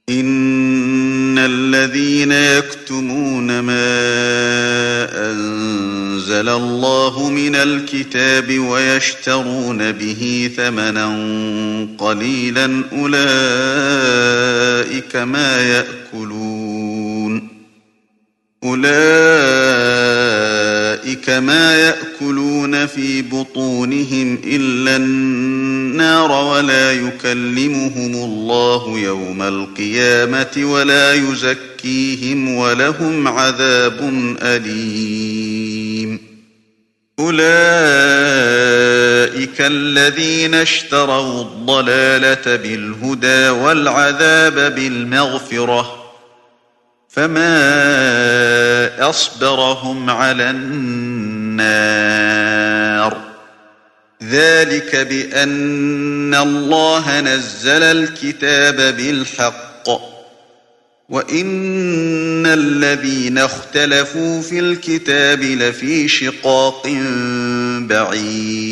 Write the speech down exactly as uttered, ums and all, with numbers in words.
إن الذين يكتمون ما أنزل الله من الكتاب ويشترون به ثمنا قليلا أولئك ما يأكلون أولئك ما يأكلون في بطونهم إلا النار ولا يكلمهم الله يوم القيامة ولا يزكيهم ولهم عذاب أليم أولئك الذين اشتروا الضلالة بالهدى والعذاب بالمغفرة فما أصبرهم على النار ذلك بأن الله نزل الكتاب بالحق وإن الذين اختلفوا في الكتاب لفي شقاق بعيد